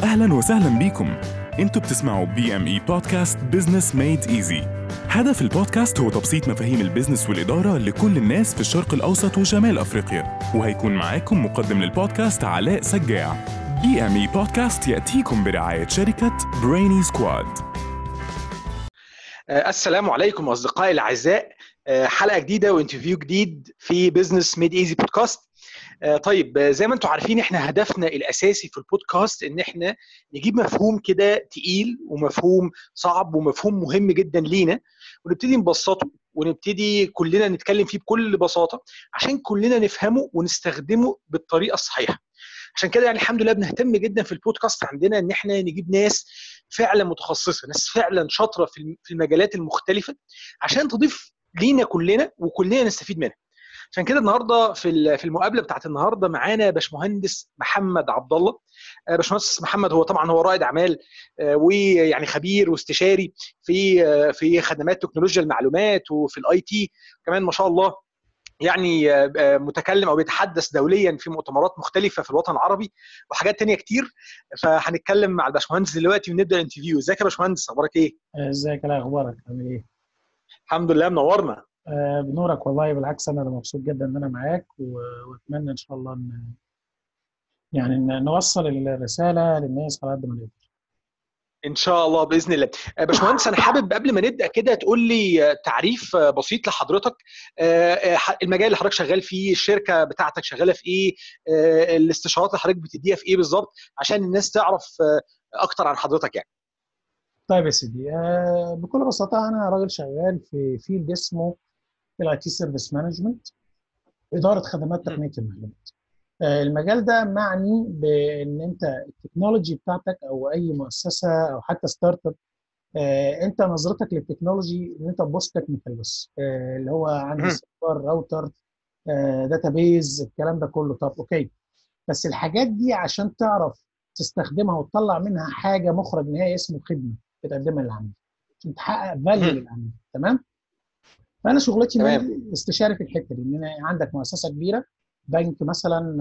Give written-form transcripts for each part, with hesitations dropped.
أهلاً وسهلاً بيكم. انتوا بتسمعوا BME بودكاست Business Made Easy. هدف البودكاست هو تبسيط مفاهيم البيزنس والإدارة لكل الناس في الشرق الأوسط وشمال أفريقيا. وهيكون معاكم مقدم للبودكاست علاء سجاع. BME بودكاست يأتيكم برعاية شركة Brainy Squad. السلام عليكم أصدقائي الأعزاء. حلقة جديدة وانترفيو جديد في Business Made Easy بودكاست. طيب، زي ما انتم عارفين احنا هدفنا الاساسي في البودكاست ان احنا نجيب مفهوم كده تقيل ومفهوم صعب ومفهوم مهم جدا لينا، ونبتدي نبسطه ونبتدي كلنا نتكلم فيه بكل بساطة عشان كلنا نفهمه ونستخدمه بالطريقة الصحيحة. عشان كده يعني الحمد لله بنهتم جدا في البودكاست عندنا ان احنا نجيب ناس فعلا متخصصة، ناس فعلا شاطرة في المجالات المختلفة عشان تضيف لينا كلنا وكلنا نستفيد منها. عشان كده النهارده في المقابله بتاعت النهارده معانا باشمهندس محمد عبد الله. باشمهندس محمد هو طبعا هو رائد اعمال، ويعني خبير واستشاري في خدمات تكنولوجيا المعلومات وفي الاي تي كمان ما شاء الله. يعني متكلم او بيتحدث دوليا في مؤتمرات مختلفه في الوطن العربي وحاجات تانية كتير. فهنتكلم مع الباشمهندس دلوقتي ونبدا الانترفيو. ازيك يا باشمهندس، اخبارك ايه؟ ازيك، ايه اخبارك، عامل ايه؟ الحمد لله، منورنا. بنورك والله، بالعكس انا مبسوط جدا ان انا معاك واتمنى ان شاء الله إن نوصل الرساله للناس على قد ما نقدر. ان شاء الله باذن الله. باشمهندس انا حابب قبل ما نبدا كده تقول لي تعريف بسيط لحضرتك، المجال اللي حضرتك شغال فيه، الشركه بتاعتك شغاله في ايه، الاستشارات اللي حضرتك بتديها في ايه بالظبط عشان الناس تعرف اكتر عن حضرتك يعني. طيب يا سيدي، بكل بساطه انا راجل شغال في فيلد اسمه الاي تي سيرفيس مانجمنت، اداره خدمات تقنيه المعلومات. المجال ده معني بان انت التكنولوجي بتاعتك او اي مؤسسه او حتى ستارت اب، انت نظرتك للتكنولوجي ان انت تبص تكنيكال بس، اللي هو عندي سيرفر، راوتر، داتابيز، الكلام ده كله. طب اوكي، بس الحاجات دي عشان تعرف تستخدمها وتطلع منها حاجه مخرج نهائي اسمه خدمه بتقدمها للعميل عشان تحقق فاليو للعميل. تمام؟ فانا شغلتي استشاري في الحته دي، ان انا عندك مؤسسه كبيره، بنك مثلا،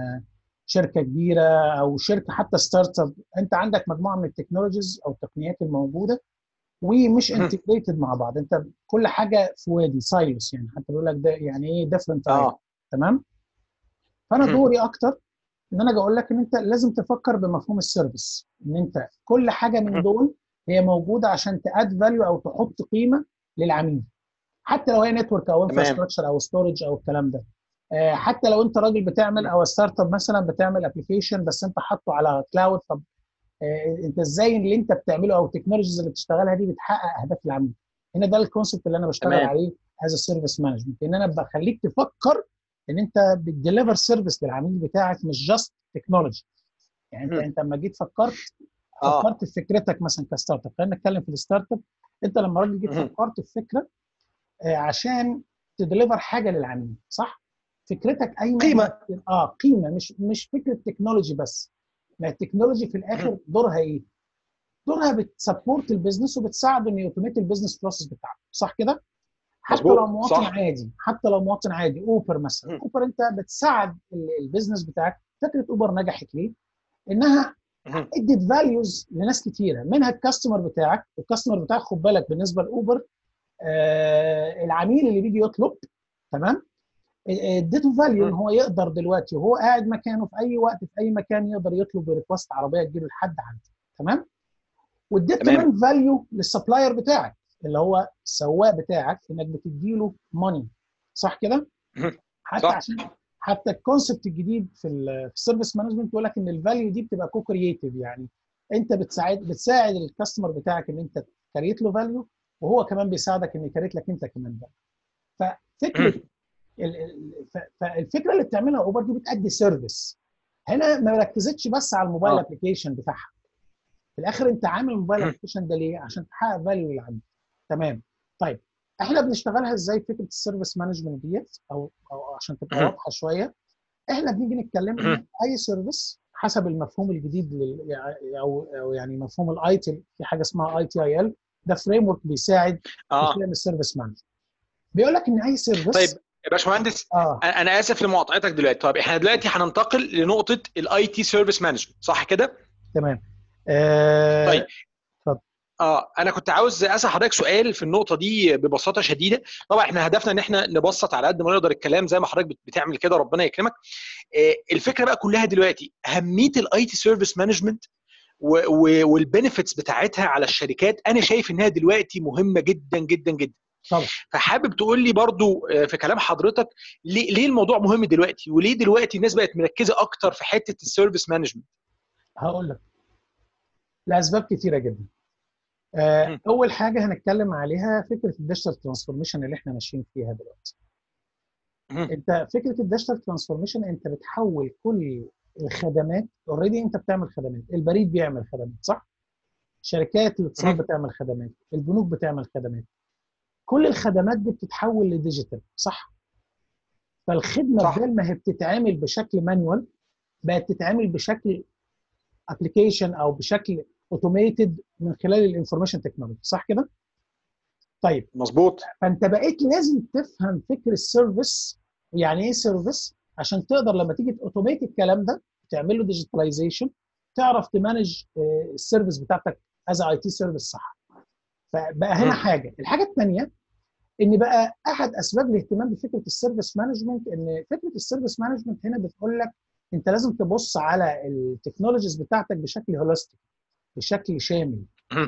شركه كبيره او شركه حتى ستارت اب، انت عندك مجموعه من التكنولوجيز او التقنيات الموجوده ومش انتجريتد مع بعض، انت كل حاجه في وادي سايلوس، يعني حتى بيقول لك ده يعني ايه ديفرنت. تمام؟ فانا دوري اكتر ان انا اقول لك ان انت لازم تفكر بمفهوم السيرفيس، ان انت كل حاجه من دول هي موجوده عشان تاد فاليو او تحط قيمه للعميل، حتى لو هي نتورك او انفراستراكشر او ستورج او الكلام ده. حتى لو انت راجل بتعمل او ستارت اب مثلا بتعمل ابلكيشن بس انت حاطه على كلاود، طب انت ازاي اللي انت بتعمله او التكنولوجيز اللي بتشتغلها دي بتحقق اهداف العميل؟ هنا ده الكونسبت اللي انا بشتغل عليه از سيرفيس مانجمنت، ان انا بخليك تفكر ان انت بتديليفر سيرفيس للعميل بتاعك، مش جاست تكنولوجي. يعني انت لما جيت فكرت في فكرتك مثلا كستارت اب، خلينا نتكلم في الستارت اب. انت لما راجل جيت فكرت في فكره عشان تديليفر حاجه للعميل، صح؟ فكرتك اي قيمه، مش فكره تكنولوجي بس. ما التكنولوجي في الاخر دورها ايه؟ دورها بتسبورت البيزنس وبتساعده انه يوتوميت البيزنس بروسيس بتاعته، صح كده؟ حتى لو مواطن عادي، اوبر مثلا، اوبر انت بتساعد البيزنس بتاعك. فكره اوبر نجحت ليه؟ انها ادت فاليوز لناس كتيره، منها الكاستمر بتاعك. والكاستمر بتاعك خد بالك بالنسبه لاوبر، العميل اللي بيجي يطلب، تمام، اديته فاليو ان هو يقدر دلوقتي وهو قاعد مكانه في اي وقت في اي مكان يقدر يطلب ريكوست عربيه تجيله لحد عنده. تمام؟ واديت كمان فاليو للسبلاير بتاعك اللي هو السواق بتاعك، انك بتديله ماني، صح كده؟ حتى عشان حتى الكونسبت الجديد في السيرفيس مانجمنت بيقول لك ان الفاليو دي بتبقى كو كرييتيف، يعني انت بتساعد الكاستمر بتاعك ان انت كريت له فاليو، وهو كمان بيساعدك ان يكريت لك انت كمان فاليو. ففكره فالفكره اللي بتعملها اوبر دي بتأدي سيرفيس. هنا ما ركزتش بس على الموبايل ابلكيشن بتاعها، في الاخر انت عامل الموبايل ابلكيشن ده ليه؟ عشان تحقق فاليو للعميل. تمام؟ طيب احنا بنشتغلها ازاي فكره السيرفيس مانجمنت ديت، او عشان تبقى واضحه شويه. احنا بنيجي نتكلم ان اي سيرفيس حسب المفهوم الجديد او يعني مفهوم الاي تي، في حاجه اسمها اي تي اي ال، ده فريم ورك بيساعد في فهم السيرفيس مانجمنت. بيقول لك ان اي سيرفيس. طيب يا باشمهندس، انا اسف لمقاطعتك دلوقتي. طب احنا دلوقتي هننتقل لنقطه الاي تي سيرفيس مانجمنت، صح كده؟ تمام. طيب اتفضل. انا كنت عاوز اسال حضرتك سؤال في النقطه دي ببساطه شديده. طبعا احنا هدفنا ان احنا نبسط على قد ما نقدر الكلام زي ما حضرتك بتعمل كده، ربنا يكرمك. الفكره بقى كلها دلوقتي اهميه الاي تي سيرفيس مانجمنت والبنفيتس بتاعتها على الشركات. انا شايف انها دلوقتي مهمه جدا جدا جدا. طبعا. فحابب تقول لي برضو في كلام حضرتك ليه الموضوع مهم دلوقتي، وليه دلوقتي الناس بقت مركزه اكتر في حته السيرفيس مانجمنت؟ هقول لك لاسباب كتيره جدا. اول حاجه هنتكلم عليها فكره الديجيتال ترانسفورميشن اللي احنا ماشيين فيها دلوقتي. انت فكره الديجيتال ترانسفورميشن، انت بتحول كل الخدمات. اوريدي انت بتعمل خدمات، البريد بيعمل خدمات صح، شركات الاتصال بتعمل خدمات، البنوك بتعمل خدمات، كل الخدمات دي بتتحول لديجيتال صح. فالخدمه بدل ما هي بتتعامل بشكل مانوال بقت تتعامل بشكل ابلكيشن او بشكل اوتوميتد من خلال الانفورميشن تكنولوجي صح كده. طيب مظبوط. فانت بقيت لازم تفهم فكر السيرفيس، يعني ايه سيرفيس، عشان تقدر لما تيجي اوتوميت الكلام ده تعمل له ديجيتاليزيشن، تعرف تمانج السيرفيس بتاعتك از اي تي سيرفيس صح. فبقى هنا الحاجه الثانيه ان بقى احد اسباب الاهتمام بفكره السيرفيس مانجمنت، ان فكره السيرفيس مانجمنت هنا بتقول لك انت لازم تبص على التكنولوجيز بتاعتك بشكل هولستيك، بشكل شامل.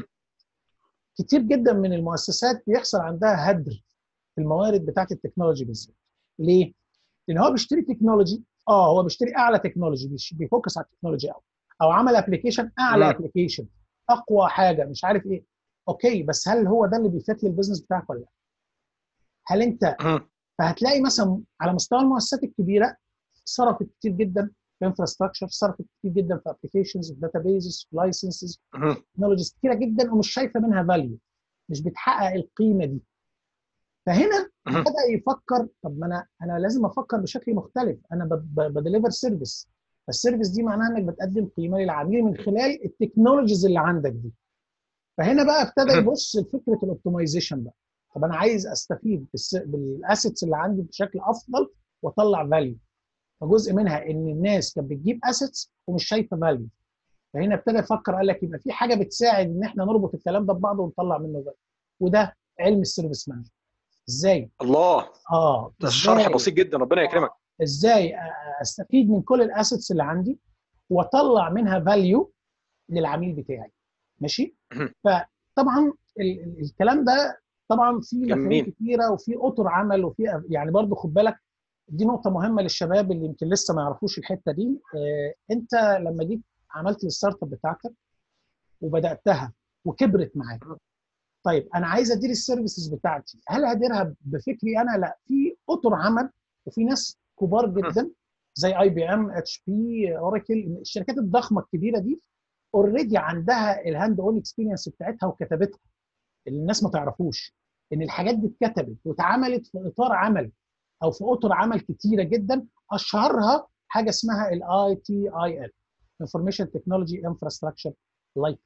كتير جدا من المؤسسات بيحصل عندها هدر في الموارد بتاعت التكنولوجي بالذات. ليه؟ لان هو بيشتري تكنولوجي، هو بيشتري اعلى تكنولوجي، بيفوكس على التكنولوجي قوي، او عمل ابلكيشن اعلى ابلكيشن اقوى حاجه مش عارف ايه. اوكي، بس هل هو ده اللي بيفيد البيزنس بتاعك ولا لا؟ هل انت فهتلاقي مثلا على مستوى المؤسسات الكبيره صرفت كتير جدا في انفراستراكشر، صرفت كتير جدا في ابلكيشنز، في داتابيزز، في لايسنسز، تكنولوجيز كتيره جدا ومش شايفه منها فاليو، مش بتحقق القيمه دي. فهنا بدا يفكر طب ما انا لازم افكر بشكل مختلف. انا بديليفر سيرفيس، السيرفيس دي معناها انك بتقدم قيمه للعميل من خلال التكنولوجيز اللي عندك دي. فهنا بقى ابتدى يبص لفكره الاوبتمايزيشن بقى. طب انا عايز استفيد بالاسيتس اللي عندي بشكل افضل واطلع فاليو. فجزء منها ان الناس كانت بتجيب اسيتس ومش شايفه فاليو. فهنا ابتدى يفكر قال لك يبقى في حاجه بتساعد ان احنا نربط الكلام ده ببعضه ونطلع منه فاليو، وده علم السيرفيس مانجمنت. ازاي؟ الله، ده الشرح بسيط جدا، ربنا يكرمك. ازاي استفيد من كل الاسيتس اللي عندي واطلع منها فاليو للعميل بتاعي. ماشي. فطبعا الكلام ده طبعا في مفاهيم كتيره وفي اطر عمل وفي يعني برضو خد بالك دي نقطه مهمه للشباب اللي يمكن لسه ما يعرفوش الحته دي. انت لما جيت عملت الستارت اب بتاعتك وبداتها وكبرت معاك، طيب انا عايز ادير السيرفيسز بتاعتي، هل هديرها بفكري انا؟ لا، في اطر عمل وفي ناس كبار جدا زي اي بي ام، اتش بي، اوراكل، الشركات الضخمه الكبيره دي اوريدي عندها الهاند اون اكسبيرينس بتاعتها وكتبتها، اللي الناس ما تعرفوش ان الحاجات دي اتكتبت واتعملت في اطار عمل او في اطر عمل كتيره جدا، اشهرها حاجه اسمها الاي تي اي ال، انفورميشن تكنولوجي انفراستراكشر لايك.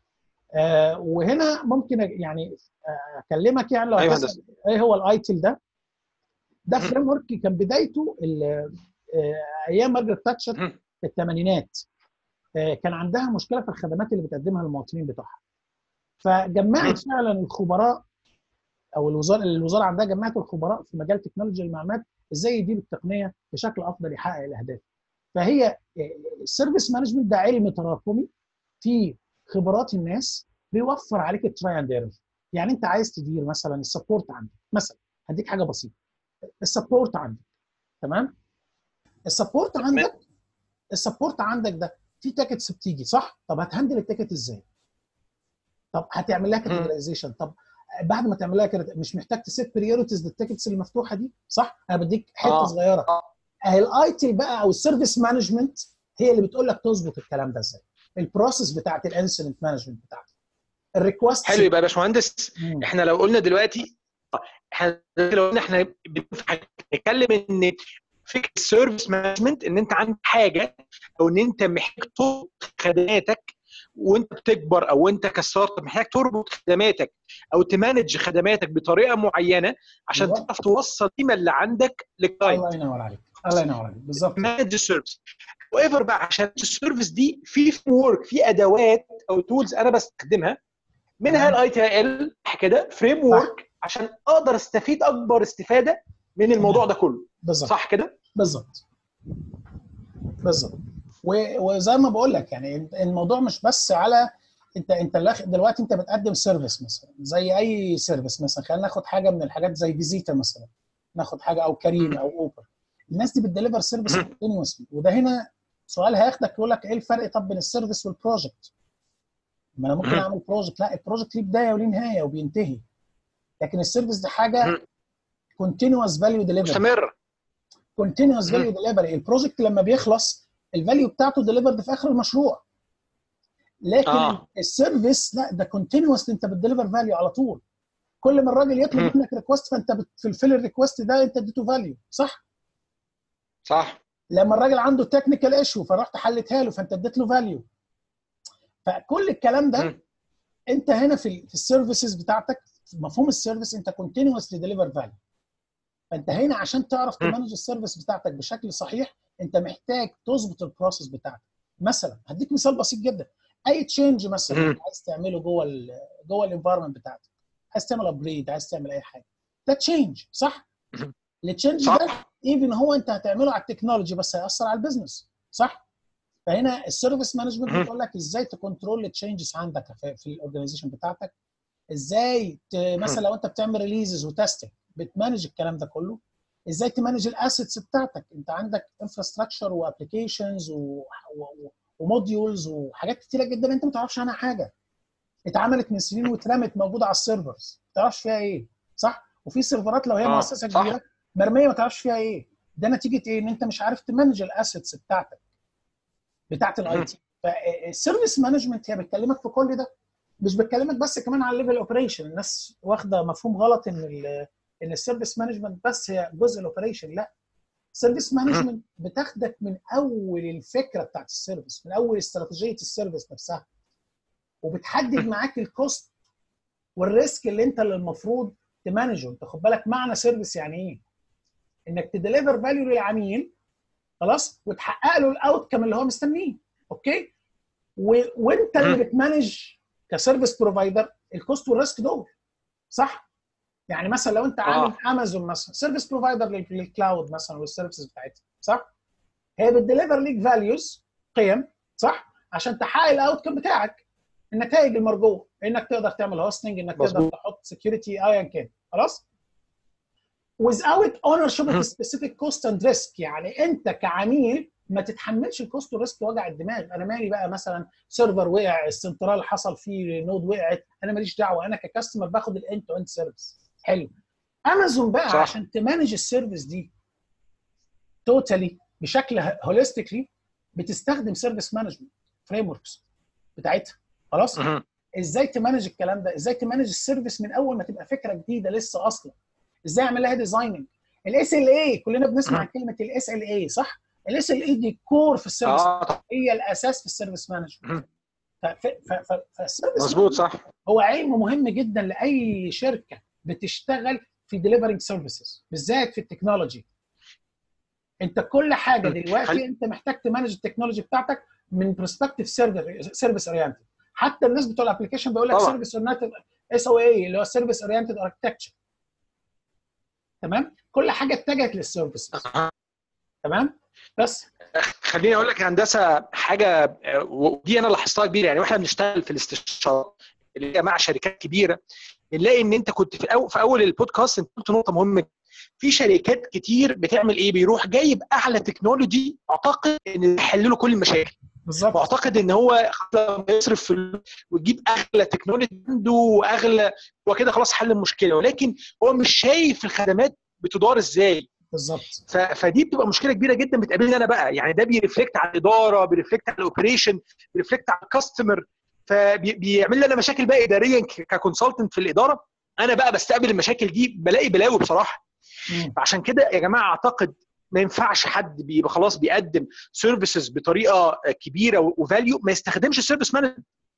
وهنا ممكن يعني اكلمك يعني لو هتسال ايه هو الاي تي ال ده فريم ورك كان بدايته ايام مارجريت تاتشر في الثمانينات. كان عندها مشكله في الخدمات اللي بتقدمها للمواطنين بتوعها، فجمعت فعلا الخبراء او الوزاره عندها جمعت الخبراء في مجال تكنولوجيا المعلومات ازاي يديروا التقنيه بشكل افضل يحقق الاهداف. فهي السيرفيس مانجمنت ده علم تراكمي في خبرات الناس بيوفر عليك التراي اند ايرور. يعني انت عايز تدير مثلا السبورت عندك، مثلا هديك حاجه بسيطه، السبورت عندك تمام، السبورت عندك ده في تيكتس بتيجي صح، طب هتهندل التيكت ازاي؟ طب هتعمل لها كاتيجورايزيشن، طب بعد ما تعمل لها كده مش محتاج تسيت بريورتيز للتيكتس المفتوحه دي صح؟ انا بديك حته صغيره اهي. الاي تي بقى او السيرفيس مانجمنت هي اللي بتقول لك تظبط الكلام ده ازاي، البروسيس بتاعت الانسيدنت مانجمنت بتاعتك، الريكوست. حلو. يبقى يا باشمهندس احنا لو قلنا دلوقتي احنا بنتكلم ان فكره السيرفيس مانجمنت ان انت عندك حاجه او ان انت محتاج تطور خدماتك وانت بتكبر او انت كستارت اب محتاج تربط خدماتك او تمانج خدماتك بطريقه معينه عشان أيوة. تعرف توصل القيمه اللي عندك للكلاينت. الله ينور عليك، الله ينور عليك، بالظبط. مانج السيرفيس وايفر بقى، عشان السيرفيس دي في فريم ورك، في ادوات او تولز انا بستخدمها، منها الاي تي ال كده فريم ورك عشان اقدر استفيد اكبر استفاده من الموضوع ده كله. بالظبط. صح كده؟ بالظبط بالظبط. وزي ما بقول لك يعني الموضوع مش بس على انت دلوقتي انت بتقدم سيرفيس مثلا زي اي سيرفيس، مثلا خلينا ناخد حاجه من الحاجات زي فيزيتا مثلا، ناخد حاجه او كريم او اوبر. الناس دي بتديليفر سيرفيس كونتينوسلي، وده هنا سؤال هياخدك يقول لك ايه الفرق طب بين السيرفيس والبروجكت؟ ما انا ممكن اعمل بروجكت، لا البروجكت ليه بدايه وليه نهايه وبينتهي، لكن السيرفيس دي حاجه كونتينوس فاليو ديليفري، مستمر. كونتينوس فاليو ديليفري. البروجكت لما بيخلص الفاليو بتاعته ديليفرد في اخر المشروع، لكن السيرفيس لا، ده كونتينوس، انت بتديليفر فاليو على طول. كل ما الراجل يطلب منك ريكوست فانت بتفلفل الريكوست ده، انت اديته فاليو. صح؟ صح. لما الراجل عنده تكنيكال ايشو فرحت حلتها له فانت اديت له فاليو. فكل الكلام ده انت هنا في السيرفيسز بتاعتك، في مفهوم السيرفيس انت كونتينوسلي ديليفر فاليو. فانت هنا عشان تعرف تمانج السيرفيس بتاعتك بشكل صحيح انت محتاج تظبط البروسيس بتاعتك. مثلا هديك مثال بسيط جدا، اي تشينج مثلا عايز تعمله جوه الانفايرمنت بتاعتك، عايز تعمل ابجريد، عايز تعمل اي حاجه، ده تشينج. صح؟ التشينج ده ايفن هو انت هتعمله على التكنولوجي بس هيأثر على البيزنس. صح؟ فهنا السيرفيس مانجمنت بتقول لك ازاي تكنترول التشينجز عندك في الاورجانيزيشن بتاعتك، ازاي مثلا لو انت بتعمل ريليزز وتستنج بتمانج الكلام ده كله، ازاي تمانج الاسيتس بتاعتك. انت عندك انفراستراكشر وابلكيشنز وموديولز وحاجات كتيره جدا انت ما تعرفش عنها حاجه، اتعملت من سنين واترمت موجوده على السيرفرز ما تعرفش فيها ايه. صح؟ وفي سيرفرات لو هي مؤسسه كبيره مرميه ما تعرفش فيها ايه. ده نتيجه ايه؟ ان انت مش عارف تمانج الاسيتس بتاعت الاي تي. فالسيرفيس مانجمنت هي بتكلمك في كل ده، مش بتكلمك بس كمان على الليفل اوبريشن. الناس واخده مفهوم غلط ان السيرفيس مانجمنت بس هي جزء الاوبريشن. لا، السيرفيس مانجمنت بتاخدك من اول الفكره بتاعت السيرفيس، من اول استراتيجيه السيرفيس نفسها، وبتحدد معاك الكوست والريسك اللي المفروض تمانجه. انت خد بالك معنى سيرفيس يعني ايه؟ انك تديليفر فاليو للعميل خلاص وتحقق له الاوتكم اللي هو مستنيه. اوكي؟ وانت اللي بتمانج كسيرفيس بروفايدر الكوست والريسك دول. صح؟ يعني مثلا لو انت عامل امازون مثلا سيرفيس بروفايدر للكلاود مثلا والسيرفيسز بتاعتها، صح؟ هي بتديليفر ليك فاليوز، قيم، صح؟ عشان تحقق الاوتكم بتاعك، النتائج المرجوه، انك تقدر تعمل هوستنج، انك تقدر تحط سكيورتي ايا كان. خلاص؟ without ownership of specific cost and risk. يعني انت كعميل ما تتحملش الكوست والريسك وجع الدماغ. انا مالي بقى مثلا سيرفر وقع، السنترال حصل فيه نود وقعت، انا ماليش دعوه، انا ككاستمر باخد الاند تو اند سيرفيس. حلو. امازون بقى صح. عشان تمانج السيرفيس دي توتالي بشكل هوليستيكلي بتستخدم سيرفيس مانجمنت فريم وركس بتاعتها. خلاص؟ ازاي تمانج الكلام ده؟ ازاي تمانج السيرفيس من اول ما تبقى فكره جديده لسه اصلا؟ ازاي اعمل لها ديزايننج؟ الاس ال اي كلنا بنسمع عن كلمه الاس ال اي، صح؟ الاس ال اي دي كور في السيرفيس، هي الاساس في السيرفيس مانجمنت. فالسيرفيس مظبوط صح، هو علم مهم جدا لاي شركه بتشتغل في ديليفرنج سيرفيسز بالذات في التكنولوجي. انت كل حاجه دلوقتي انت محتاج تمانج التكنولوجي بتاعتك من برسبكتيف سيرفيس اورينتد. حتى الناس بتوع الابلكيشن بيقول لك سيرفيس اورينتد اس او اي اللي هو سيرفيس اورينتد اركتكتشر. تمام؟ كل حاجه اتجهت للسيرفيسز. تمام؟ بس خليني اقول لك يا هندسه حاجه، ودي انا لاحظتها كبيره. يعني واحنا بنشتغل في الاستشارات اللي هي مع شركات كبيره بنلاقي ان انت كنت في اول البودكاست انت قلت نقطه مهمه. في شركات كتير بتعمل ايه؟ بيروح جايب اعلى تكنولوجي اعتقد ان يحل له كل المشاكل. بالظبط. واعتقد ان هو يصرف ويجيب اغلى تكنولوجي عنده واغلى، هو كده خلاص حل المشكله، ولكن هو مش شايف الخدمات بتدار ازاي. بالظبط. فدي بتبقى مشكله كبيره جدا بتقابلني انا بقى. يعني ده بيرفلكت على الاداره، بيرفلكت على الاوبريشن، بيرفلكت على الكاستمر، فبيعمل لي انا مشاكل بقى اداريا ككونسلتنت في الاداره. انا بقى بستقبل المشاكل دي بلاقي بلاوي بصراحه. فعشان كده يا جماعه اعتقد ما ينفعش حد بيبقى خلاص بيقدم سيرفيسز بطريقه كبيره وفاليو ما يستخدمش السيرفيس مانجمنت.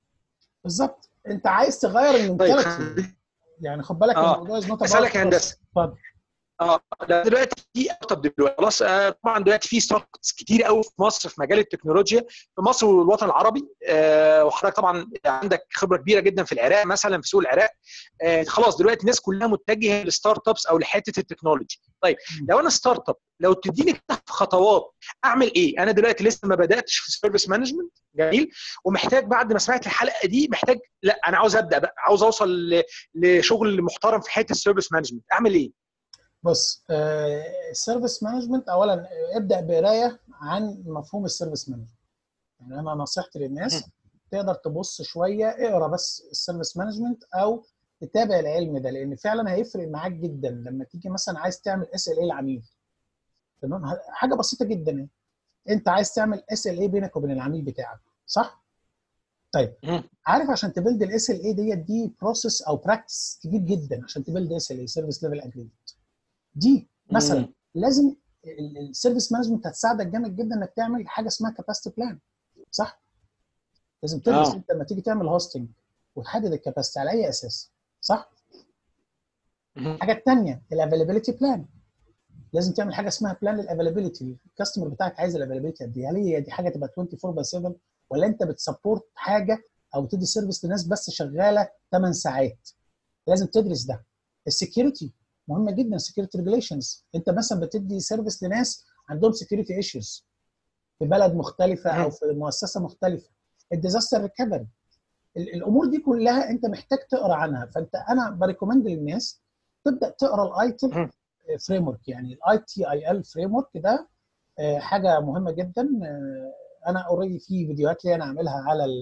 بالظبط. انت عايز تغير طيب المنتاليتي، يعني خد بالك الموضوع از نوت اسالك يا هندسه. اتفضل. دلوقتي في دلوقتي خلاص، طبعا دلوقتي في ستارت ابس كتير قوي في مصر في مجال التكنولوجيا، في مصر والوطن العربي. وحضرتك طبعا عندك خبره كبيره جدا في العراق مثلا، في سوق العراق. خلاص دلوقتي الناس كلها متجهه للستارت ابس او لحته التكنولوجي. طيب لو انا ستارت اب، لو تديني كده خطوات اعمل ايه؟ انا دلوقتي لسه ما بداتش في السيرفيس مانجمنت، جميل، ومحتاج بعد ما سمعت الحلقه دي محتاج، لا انا عاوز ابدا بقى، عاوز اوصل لشغل محترم في حته السيرفيس مانجمنت، اعمل ايه؟ بص، السيرفيس مانجمنت اولا ابدا بقرايه عن مفهوم السيرفيس مانجمنت. يعني انا نصيحتي للناس تقدر تبص شويه، اقرا بس السيرفيس مانجمنت او تتابع العلم ده، لان فعلا هيفرق معاك جدا لما تيجي مثلا عايز تعمل اس ال اي للعميل. تمام، حاجه بسيطه جدا يعني. انت عايز تعمل اس ال اي بينك وبين العميل بتاعك، صح؟ طيب عارف عشان تبلد الاس ال اي دي بروسيس او براكتس كبير جدا عشان تبلد اس ال اي سيرفيس ليفل اجريمنت دي مثلا. لازم السيرفيس مانجمنت هتساعدك جامد جدا انك تعمل حاجه اسمها كاباسيتي بلان، صح؟ لازم تدرس انت لما تيجي تعمل هوستنج وتحدد الكاباسيتي على اي اساس، صح؟ الحاجه الثانيه الافيلابيلتي بلان، لازم تعمل حاجه اسمها بلان للافيلابيلتي. الكاستمر بتاعك عايز الافيلابيلتي قد ايه؟ هل هي دي حاجه تبقى 24/7 ولا انت بتسبورت حاجه او بتدي سيرفيس لناس بس شغاله 8 ساعات؟ لازم تدرس ده. السكيورتي مهمه جدا، السكيورتي ريجوليشنز، انت مثلا بتدي سيرفيس لناس عندهم سكيورتي ايشوز في بلد مختلفه او في مؤسسه مختلفه. الديزاستر ريكفري، الامور دي كلها انت محتاج تقرا عنها. انا بريكومند للناس تبدا تقرا الايتل فريم ورك، يعني الاي تي اي ال فريم ورك ده حاجه مهمه جدا. انا اوريدي في فيديوهات لي انا عاملها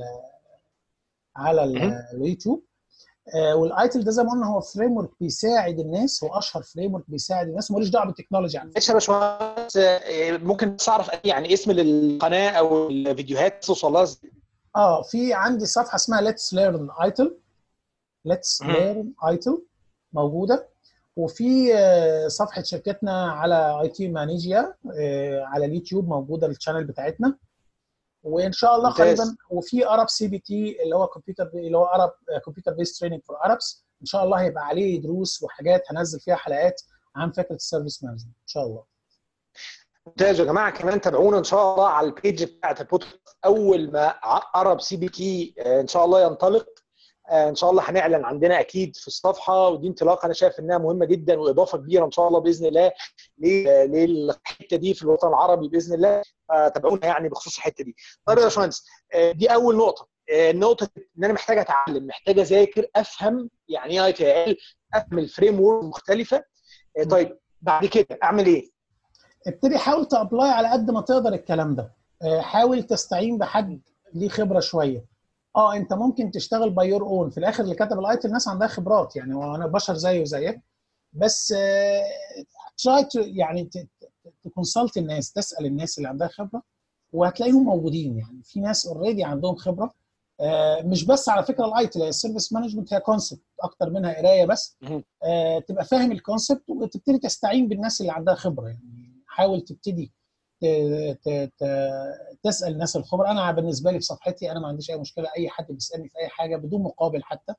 على اليوتيوب. والايتل ده زي ما قلنا هو فريم ورك بيساعد الناس، هو اشهر فريم ورك بيساعد الناس، ملوش دعوه بالتكنولوجي يعني. معلش يا باشمهندس، ممكن بس اعرف يعني اسم القناه او الفيديوهات توصل لها ازاي؟ في عندي صفحه اسمها ليتس ليرن ايتل، ليتس ليرن ايتل موجوده. وفي صفحه شركتنا على اي تي مانيجيا على اليوتيوب موجوده الشانل بتاعتنا. وان شاء الله قريبا، وفي ارب سي بي تي اللي هو كمبيوتر، اللي هو ارب كمبيوتر بيس تريننج فور اربس، ان شاء الله هيبقى عليه دروس وحاجات هنزل فيها حلقات عن فكره السيرفيس مانجمنت ان شاء الله. ممتاز يا جماعه، كمان تابعونا ان شاء الله على البيج بتاعت البودكاست. اول ما ارب سي بي تي ان شاء الله ينطلق، ان شاء الله هنعلن عندنا اكيد في الصفحه، ودي انطلاقه انا شايف انها مهمه جدا واضافه كبيره ان شاء الله باذن الله للحته دي في الوطن العربي باذن الله. تابعونا يعني بخصوص الحته دي. طيب يا باشمهندس، دي اول نقطه. النقطه ان انا محتاج اتعلم، محتاج اذاكر، افهم يعني ايه اي تي ال، افهم الفريم ورك المختلفه. طيب بعد كده اعمل ايه؟ ابتدي حاول تابلاي على قد ما تقدر الكلام ده. حاول تستعين بحد ليه خبره شويه. انت ممكن تشتغل باي يور اون، في الاخر اللي كتب الايتل الناس عندها خبرات يعني، وانا بشر زيه وزيك، بس تراي يعني تكونسلت الناس، تسال الناس اللي عندها خبره وهتلاقيهم موجودين. يعني في ناس اوريدي عندهم خبره. مش بس على فكره الايتل، السيرفيس مانجمنت هي كونسبت اكتر منها قرايه بس. تبقى فاهم الكونسبت وتبتدي تستعين بالناس اللي عندها خبره. يعني حاول تبتدي تسال الناس الخبراء. انا بالنسبه لي في صفحتي انا ما عنديش اي مشكله، اي حد بيسالني في اي حاجه بدون مقابل حتى.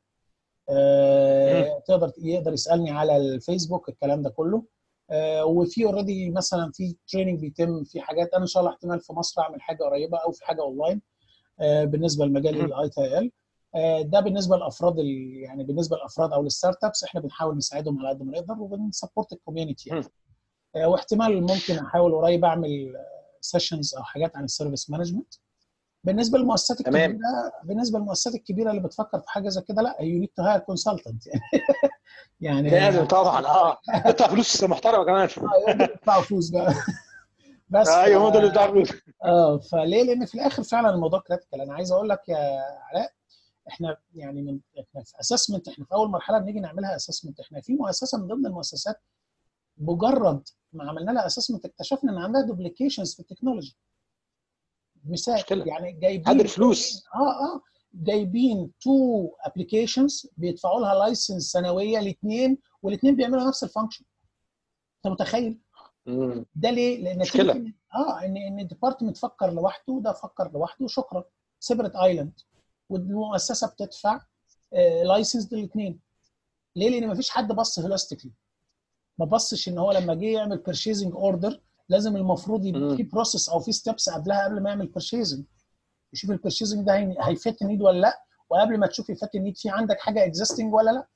يقدر يسالني على الفيسبوك الكلام ده كله. وفي اوريدي مثلا في تريننج بيتم في حاجات، انا ان شاء الله احتمال في مصر اعمل حاجه قريبه او في حاجه اونلاين بالنسبه لمجال الاي تي ال. ده بالنسبه للافراد، يعني بالنسبه للافراد او للستارت ابس احنا بنحاول نساعدهم على قد ما نقدر وبنسبورت الكوميونتي يعني. واحتمال ممكن احاول قريب اعمل سيشنز او حاجات عن السيرفيس مانجمنت. بالنسبه للمؤسسات الكبيره، اللي بتفكر في حاجه زي كده، لا يو نيد تو هاير كونسلتنت يعني لازم طبعا تدفع فلوس محترمه كمان. يدفعوا فلوس بقى بس ايوه هم دول اللي بيدفعوا فلوس. فليه؟ لان في الاخر فعلا الموضوع كريتيكال. انا عايز اقول لك يا علاء، احنا يعني احنا في اسسمنت، احنا في اول مرحله بنيجي نعملها اسسمنت، احنا في مؤسسه من ضمن المؤسسات مجرد ما عملنا لها اسسمنت اكتشفنا ان عندها دوبليكيشنز في التكنولوجي. مثال يعني جايبين فلوس جايبين 2 ابلكيشنز بيدفعوا لها لايسنس سنويه الاثنين، والاثنين بيعملوا نفس الفانكشن. انت متخيل؟ ده ليه؟ لان ان الديبارتمنت فكر لوحده، ده فكر لوحده، شكرا، سيبريت ايلاند. والمؤسسه بتدفع لايسنس للاثنين. ليه؟ لان مفيش حد بص هولاستيكلي، ما بصش ان هو لما جه يعمل بيرشيزنج اوردر لازم المفروض يبقى في بروسيس او في ستيبس قبلها قبل ما يعمل بيرشيزنج، يشوف البيرشيزنج ده هيفت النيد ولا لا، وقبل ما تشوف يفت النيد في عندك حاجه اكزيستنج ولا لا.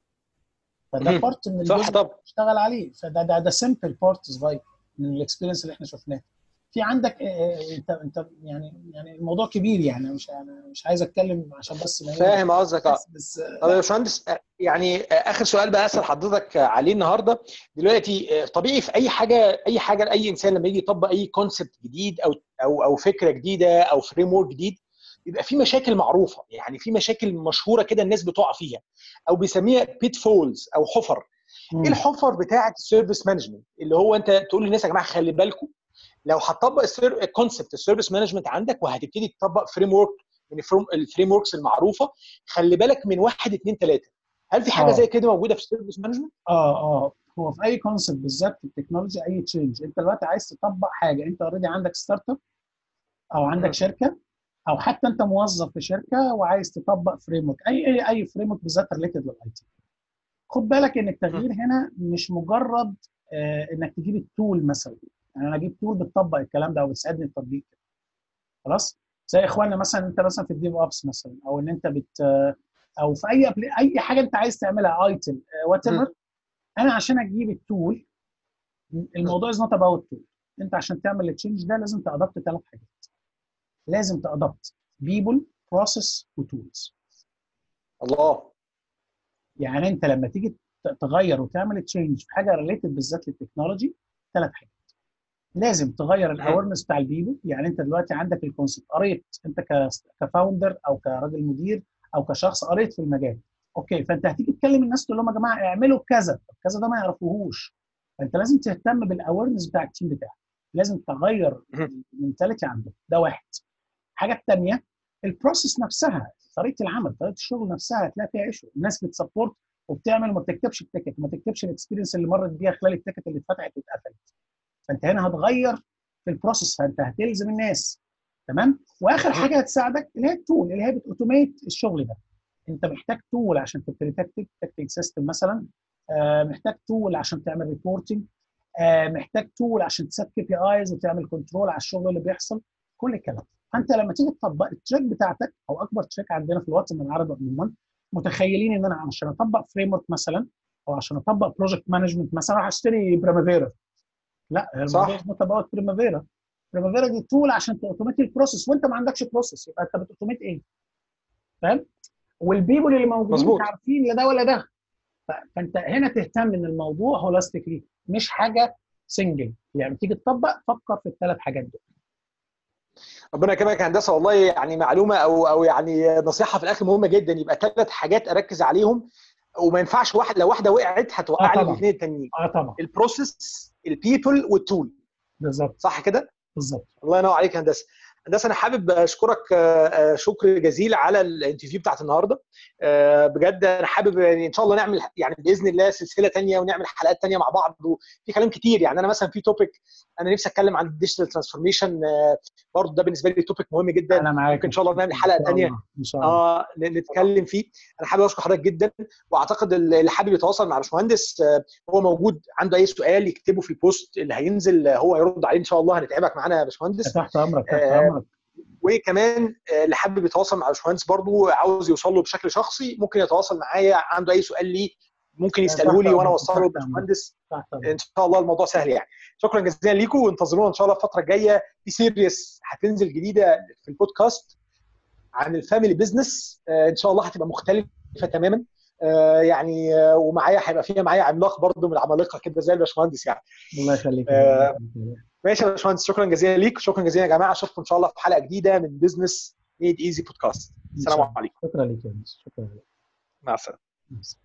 فده بارت من صح طبعا اشتغل عليه. فده سمبل بارت صغير من الاكسبيرينس اللي احنا شفناه. في عندك انت يعني الموضوع كبير، يعني مش عايز اتكلم عشان بس ما فاهم قصدك. بس طب يا باشمهندس، يعني اخر سؤال بقى اسال حضرتك عليه النهارده. دلوقتي طبيعي في اي حاجه لاي انسان لما يجي يطبق اي كونسبت جديد او فكره جديده او فريم ورك جديد، بيبقى في مشاكل معروفه، يعني في مشاكل مشهوره كده الناس بتقع فيها او بيسميها بيت فولز او حفر. ايه الحفر بتاعه السيرفيس مانجمنت اللي هو انت تقول للناس يا جماعه خلي بالكم لو هتطبق الكونسبت السيرفيس مانجمنت عندك وهتبتدي تطبق فريم ورك من الفريم وركس المعروفه، خلي بالك من 1 2 3. هل في حاجه زي كده موجوده في السيرفيس مانجمنت؟ هو في اي كونسبت بالذات في التكنولوجي، اي تشينج انت دلوقتي عايز تطبق حاجه، انت اوريدي عندك ستارت اب او عندك شركه او حتى انت موظف في شركه وعايز تطبق فريم ورك، اي فريم ورك بالذات ريليتد للاي تي. خد بالك ان التغيير هنا مش مجرد انك تجيب التول مثلا، يعني انا اجيب تول بتطبق الكلام ده او بتساعدني في التطبيق خلاص. زي اخواننا مثلا، انت مثلا في الديف اوبس مثلا، او ان انت او في اي حاجه انت عايز تعملها ايتم وات ايفر. انا عشان اجيب التول، الموضوع از نوت اباوت تول. انت عشان تعمل التشينج ده لازم تادبت 3 حاجات. لازم تادبت بيبل، بروسيس، وتولز. الله. يعني انت لما تيجي تغير وتعمل تشينج في حاجه ريليتد بالذات للتكنولوجي، 3 حاجات. لازم تغير الاويرنس بتاع البيبل، يعني انت دلوقتي عندك الكونسيبت، قريت انت كفاوندر او كراجل مدير او كشخص قريت في المجال، اوكي، فانت هتيجي تكلم الناس تقول لهم يا جماعه اعملوا كذا، كذا ده ما يعرفوهوش. فانت لازم تهتم بالاويرنس بتاع التيم بتاعك، لازم تغير المنتاليتي عندك. ده واحد. الحاجه الثانيه البروسيس نفسها، طريقه العمل، طريقه الشغل نفسها هتلاقي فيها ايشو. الناس بتسبورت وبتعمل وما بتكتبش التيكت، وما تكتبش الاكسبيرينس اللي مرت بيها خلال التيكت اللي اتفتحت واتقفلت. فانت هنا هتغير في البروسيس، فانت هتلزم الناس. تمام. واخر حاجه هتساعدك اللي هي التول اللي هي بتوتوميت الشغل ده. انت محتاج تول عشان تبتدي تكتب سيستم مثلا، محتاج تول عشان تعمل ريبورتنج، محتاج تول عشان تسيت كي بي ايز وتعمل كنترول على الشغل اللي بيحصل، كل الكلام. فانت لما تيجي تطبق التراك بتاعتك، او اكبر تراك عندنا في الوطن العربي عموما، متخيلين ان انا عشان اطبق فريم ورك مثلا او عشان اطبق بروجكت مانجمنت مثلا هشتري بريمافيرا. لا، الموضوع مش اباوت بريمافيرا. بريمافيرا دي تول عشان تاوتوميت البروسيس، وانت ما عندكش بروسيس، يبقى انت بتاوتوميت ايه؟ فاهم؟ والبيبول اللي موجودين مش عارفين لا ده ولا ده. فانت هنا تهتم ان الموضوع هولاستيكلي، مش حاجه سنجل. يعني تيجي تطبق فكر في ال3 حاجات دول. ربنا يكرمك يا هندسه، والله يعني معلومه او يعني نصيحه في الاخر مهمه جدا. يبقى 3 حاجات اركز عليهم، وما ينفعش لو واحده وقعت هتوقع لي الاثنين التانيين. طبعا. البروسيس، البيبل، والتول. بالظبط. صح كده؟ بالظبط. الله ينور عليك يا هندسه. هندسه انا حابب اشكرك شكر جزيل على الانترفيو بتاعت النهارده. بجد انا حابب ان شاء الله نعمل يعني باذن الله سلسله ثانيه ونعمل حلقات ثانيه مع بعض، وفي كلام كتير. يعني انا مثلا في توبيك انا نفسي اتكلم عن الديجيتال ترانسفورميشن، برضه ده بالنسبه لي توبيك مهم جدا. انا معاك، ممكن ان شاء الله نعمل حلقه ثانيه ان شاء الله نتكلم فيه. انا حابب اشكر حضرتك جدا، واعتقد اللي حابب يتواصل مع الباشمهندس هو موجود، عنده اي سؤال يكتبه في البوست اللي هينزل هو يرد عليه ان شاء الله. هنتعبك معانا يا باشمهندس. تحت امرك، تحت امرك. وكمان اللي حابب يتواصل مع الباشمهندس برضو عاوز يوصل له بشكل شخصي، ممكن يتواصل معايا، عنده اي سؤال ليه ممكن يساله لي وانا اوصله للباشمهندس. ان شاء الله الموضوع سهل يعني. شكرا جزيلا ليكم، وانتظرونا ان شاء الله الفتره الجايه في سيريس هتنزل جديده في البودكاست عن الفاميلي بزنس. ان شاء الله هتبقى مختلفه تماما يعني، ومعايا هيبقى فيها معايا عملاق برضو من العمالقه كده زي الباشمهندس يعني. الله يخليك. ماشي يا باشمهندس، شكرا جزيلا ليك، شكرا جزيلا يا جماعه. اشوفكم ان شاء الله في حلقه جديده من بزنس ميد ايزي بودكاست. السلام عليكم. شكرا لك يا شكرا لك. مع السلامه.